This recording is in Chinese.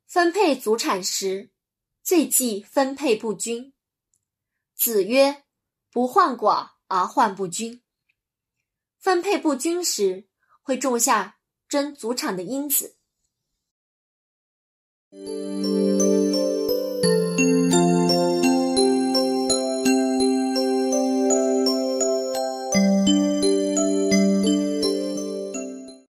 分配祖产时，最忌分配不均。子曰：不患寡而患不均。分配不均时，会种下争祖产的因子。